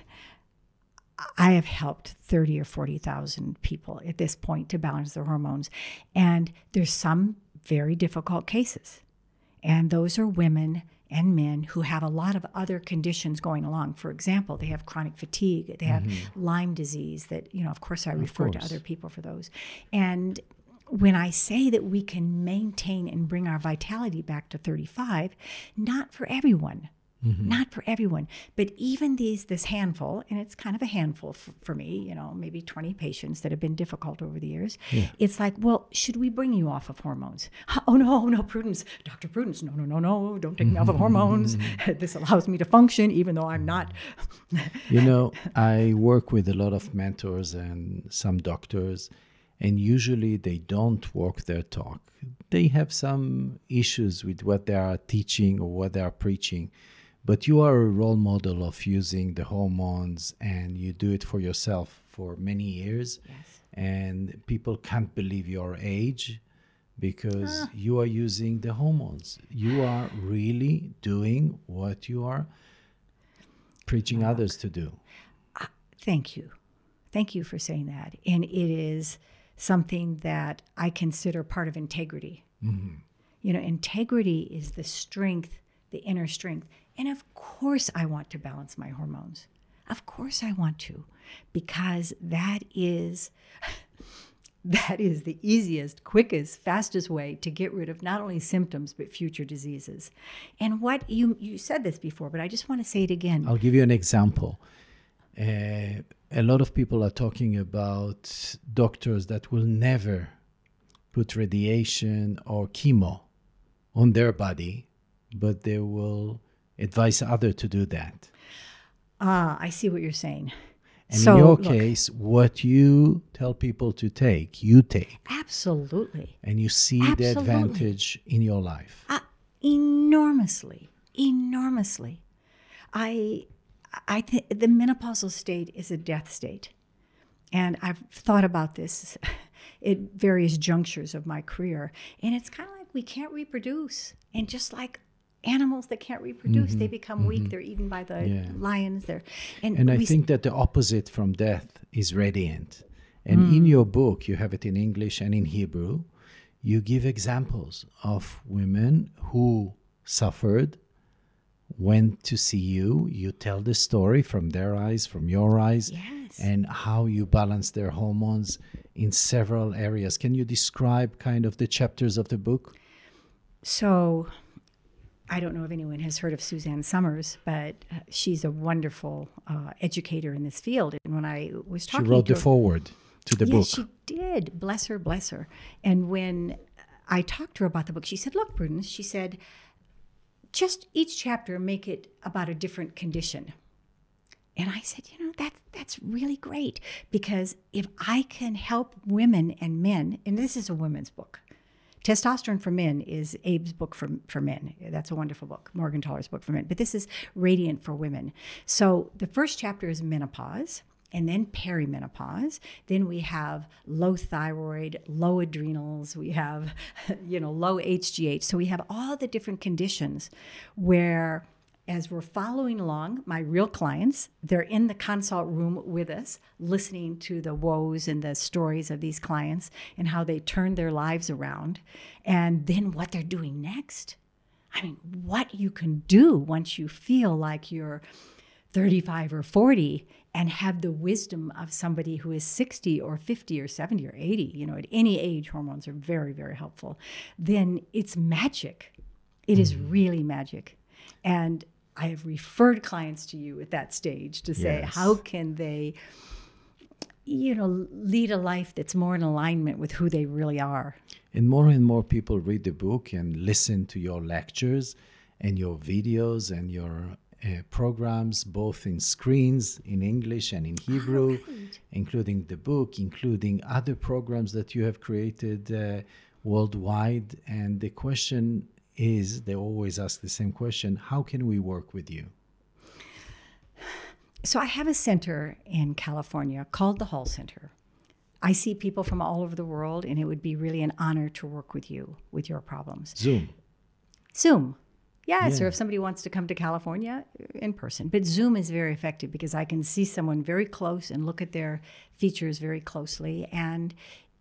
I have helped 30 or 40,000 people at this point to balance their hormones. And there's some very difficult cases. And those are women and men who have a lot of other conditions going along. For example, they have chronic fatigue, they have Lyme disease that, of course I refer to other people for those. And when I say that we can maintain and bring our vitality back to 35, not for everyone. Not for everyone, but even this handful, and it's kind of a handful for me, maybe 20 patients that have been difficult over the years. Yeah. It's like, well, should we bring you off of hormones? Oh, no, Prudence, Dr. Prudence, no, don't take me off of hormones. This allows me to function even though I'm not. I work with a lot of mentors and some doctors, and usually they don't walk their talk. They have some issues with what they are teaching or what they are preaching. But you are a role model of using the hormones, and you do it for yourself for many years. Yes. And people can't believe your age because you are using the hormones. You are really doing what you are preaching others to do. Thank you. Thank you for saying that. And it is something that I consider part of integrity. Mm-hmm. Integrity is the strength, the inner strength. And of course I want to balance my hormones. Of course I want to, because that is the easiest, quickest, fastest way to get rid of not only symptoms, but future diseases. And what you said this before, but I just want to say it again. I'll give you an example. A lot of people are talking about doctors that will never put radiation or chemo on their body, but they will advise others to do that. I see what you're saying. And in your case, what you tell people to take, you take. Absolutely. And you see the advantage in your life. Enormously. I think the menopausal state is a death state. And I've thought about this at various junctures of my career. And it's kind of like we can't reproduce. And just like animals that can't reproduce, they become weak. They're eaten by the lions. And I think that the opposite from death is radiant. And in your book, you have it in English and in Hebrew, you give examples of women who suffered, went to see you. You tell the story from their eyes, from your eyes, Yes. and how you balance their hormones in several areas. Can you describe kind of the chapters of the book? So I don't know if anyone has heard of Suzanne Summers, but she's a wonderful educator in this field. And when I was She talking wrote to the her, foreword to the book. yes, she did. Bless her, bless her. And when I talked to her about the book, she said, look, Prudence, she said, just each chapter make it about a different condition. And I said, that's really great, because if I can help women and men, and this is a women's book. Testosterone for Men is Abe's book for men. That's a wonderful book, Morgenthaler's book for men. But this is Radiant for Women. So the first chapter is menopause, and then perimenopause. Then we have low thyroid, low adrenals. We have, low HGH. So we have all the different conditions where, as we're following along, my real clients, they're in the consult room with us, listening to the woes and the stories of these clients and how they turned their lives around, and then what they're doing next. I mean, what you can do once you feel like you're 35 or 40 and have the wisdom of somebody who is 60 or 50 or 70 or 80, at any age, hormones are very, very helpful. Then it's magic. It is really magic. And I have referred clients to you at that stage to say, Yes. how can they, lead a life that's more in alignment with who they really are? And more people read the book and listen to your lectures and your videos and your programs, both in screens, in English and in Hebrew, including the book, including other programs that you have created worldwide. And the question is, they always ask the same question: how can we work with you? So I have a center in California called the Hall Center. I see people from all over the world, and it would be really an honor to work with you with your problems. Zoom. Yes, Yeah. or if somebody wants to come to California, in person. But Zoom is very effective because I can see someone very close and look at their features very closely. And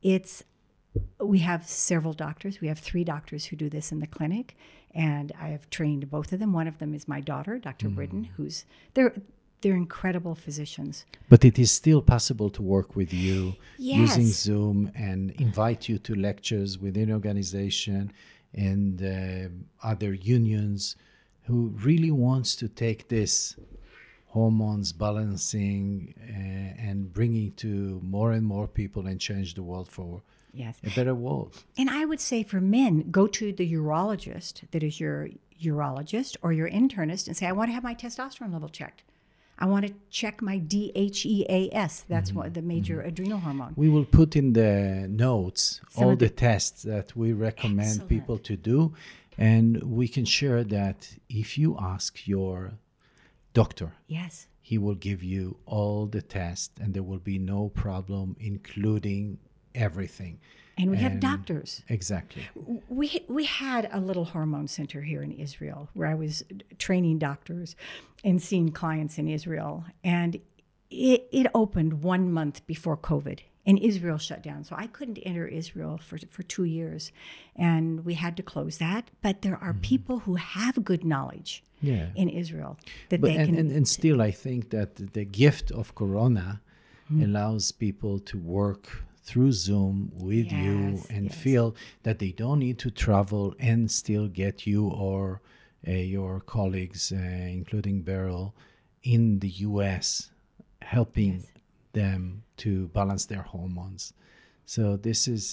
we have several doctors. We have 3 doctors who do this in the clinic, and I have trained both of them. One of them is my daughter, Dr. Britton, they're incredible physicians. But it is still possible to work with you Yes. using Zoom and invite you to lectures within organization and other unions who really wants to take this hormones balancing and bringing to more and more people and change the world for Yes. a better world. And I would say for men, go to the urologist that is your urologist or your internist and say, I want to have my testosterone level checked. I want to check my DHEAS. That's what the major adrenal hormone. We will put in the notes Some all of the tests that we recommend Excellent. people to do. And we can share that if you ask your doctor, Yes. he will give you all the tests and there will be no problem, including everything. And we have And- doctors. Exactly. We had a little hormone center here in Israel where I was training doctors and seeing clients in Israel. And it opened 1 month before COVID, and Israel shut down. So I couldn't enter Israel for 2 years, and we had to close that. But there are people who have good knowledge Yeah. in Israel that But, they can. and still, I think that the gift of Corona allows people to work through Zoom with you Yes, and yes. feel that they don't need to travel and still get you or your colleagues, including Beryl, in the US, helping Yes. them to balance their hormones. So this is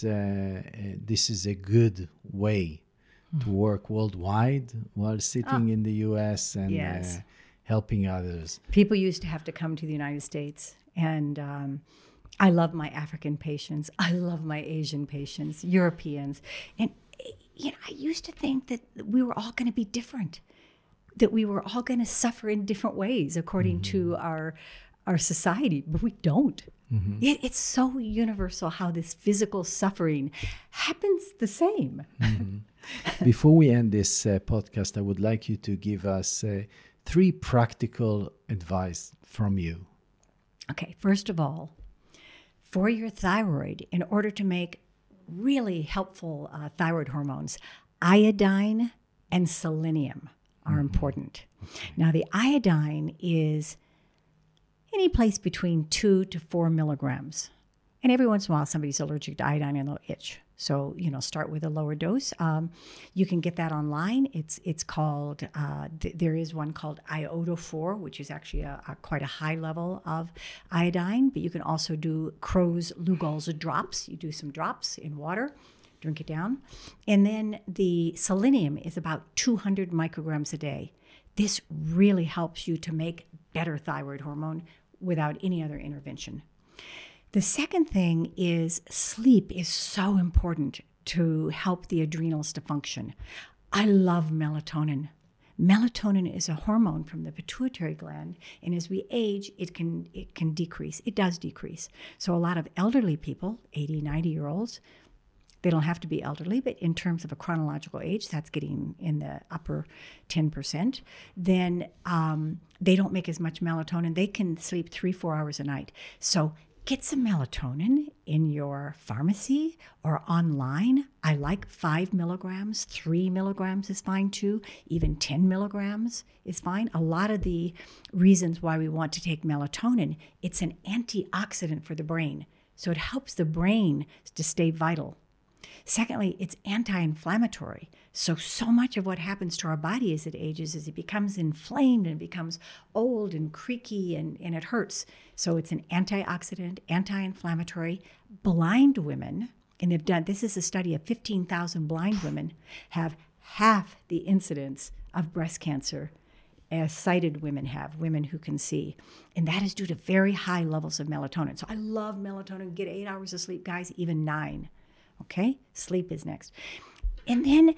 a good way to work worldwide while sitting in the US and Yes. helping others. People used to have to come to the United States, and I love my African patients. I love my Asian patients, Europeans. And, I used to think that we were all going to be different, that we were all going to suffer in different ways according to our society, but we don't. It's so universal how this physical suffering happens the same. Before we end this podcast, I would like you to give us 3 practical advice from you. Okay, first of all, for your thyroid in order to make really helpful thyroid hormones. Iodine and selenium are important. Okay. Now, the iodine is any place between 2 to 4 milligrams. And every once in a while, somebody's allergic to iodine and they'll itch. So, start with a lower dose. You can get that online. It's called, there is one called Iodo-4, which is actually quite a high level of iodine. But you can also do Kroes-Lugol's drops. You do some drops in water, drink it down. And then the selenium is about 200 micrograms a day. This really helps you to make better thyroid hormone without any other intervention. The second thing is sleep is so important to help the adrenals to function. I love melatonin. Melatonin is a hormone from the pituitary gland, and as we age, it can decrease. It does decrease. So a lot of elderly people, 80, 90-year-olds, they don't have to be elderly, but in terms of a chronological age, that's getting in the upper 10%, then they don't make as much melatonin. They can sleep 3-4 hours a night. So get some melatonin in your pharmacy or online. I like 5 milligrams, 3 milligrams is fine too. Even 10 milligrams is fine. A lot of the reasons why we want to take melatonin, it's an antioxidant for the brain. So it helps the brain to stay vital. Secondly, it's anti-inflammatory. So much of what happens to our body as it ages is it becomes inflamed and becomes old and creaky and it hurts. So it's an antioxidant, anti-inflammatory. Blind women, and they've done, this is a study of 15,000 blind women, have half the incidence of breast cancer as sighted women have, women who can see. And that is due to very high levels of melatonin. So I love melatonin. Get 8 hours of sleep, guys, even 9. Okay, sleep is next. And then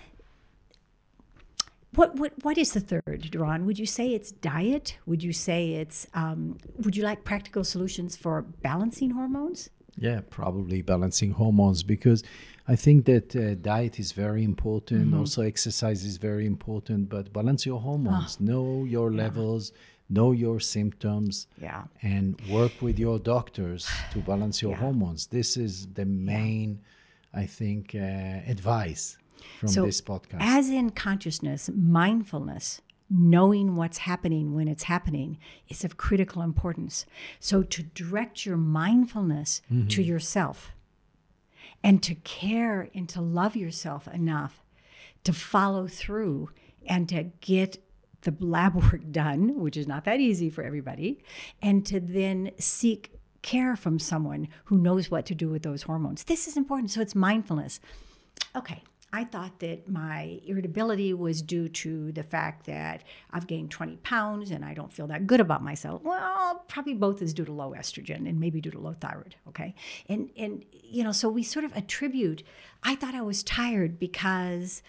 what is the third, Doron? Would you say it's diet? Would you say it's, would you like practical solutions for balancing hormones? Yeah, probably balancing hormones, because I think that diet is very important. Mm-hmm. Also exercise is very important, but balance your hormones. Know your levels, know your symptoms, and work with your doctors to balance your hormones. This is the main I think, advice from this podcast. As in consciousness, mindfulness, knowing what's happening when it's happening is of critical importance. So to direct your mindfulness to yourself and to care and to love yourself enough to follow through and to get the lab work done, which is not that easy for everybody, and to then seek care from someone who knows what to do with those hormones. This is important. So it's mindfulness. Okay, I thought that my irritability was due to the fact that I've gained 20 pounds and I don't feel that good about myself. Well, probably both is due to low estrogen and maybe due to low thyroid, okay? And so we sort of attribute, I thought I was tired because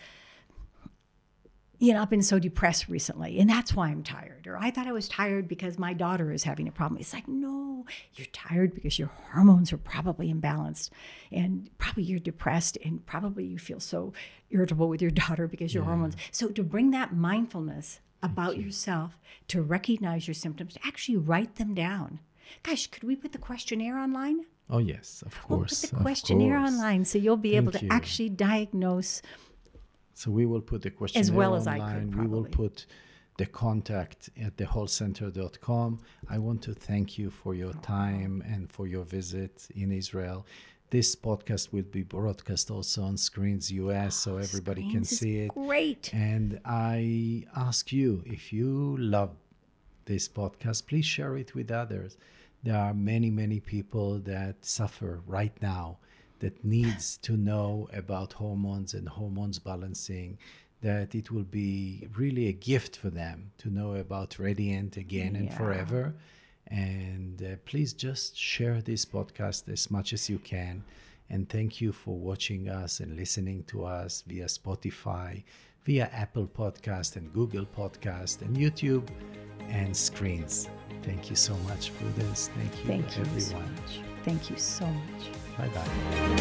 I've been so depressed recently, and that's why I'm tired. Or I thought I was tired because my daughter is having a problem. It's like, no, you're tired because your hormones are probably imbalanced, and probably you're depressed, and probably you feel so irritable with your daughter because your hormones. So to bring that mindfulness about yourself, to recognize your symptoms, to actually write them down. Gosh, could we put the questionnaire online? Oh, yes, of course. We'll put the questionnaire online so you'll be able to actually diagnose. So we will put the questionnaire as well as online. I could, probably. We will put the contact at thewholecenter.com. I want to thank you for your time and for your visit in Israel. This podcast will be broadcast also on Screens US, so everybody can see it. Great. And I ask you, if you love this podcast, please share it with others. There are many, many people that suffer right now that needs to know about hormones and hormones balancing, that it will be really a gift for them to know about Radiant again and forever. And please just share this podcast as much as you can. And thank you for watching us and listening to us via Spotify, via Apple Podcast and Google Podcast and YouTube and Screens. Thank you so much for this. Thank you everyone. So much. Thank you so much. ביי.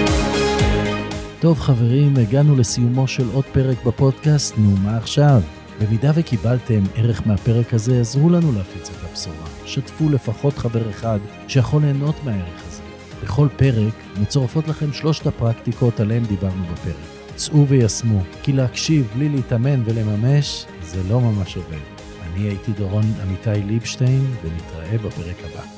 טוב חברים, הגענו לסיומו של עוד פרק בפודקאסט, נו מה עכשיו? במידה וקיבלתם ערך מהפרק הזה, עזרו לנו להפיץ את הבשורה. שתפו לפחות חבר אחד שיכול ליהנות מהערך הזה. בכל פרק מצורפות לכם 3 הפרקטיקות עליהן דיברנו בפרק. צאו וישמו, כי להקשיב בלי להתאמן ולממש זה לא ממש עובד. אני הייתי דורון אמיתי ליבשטיין, ונתראה בפרק הבא.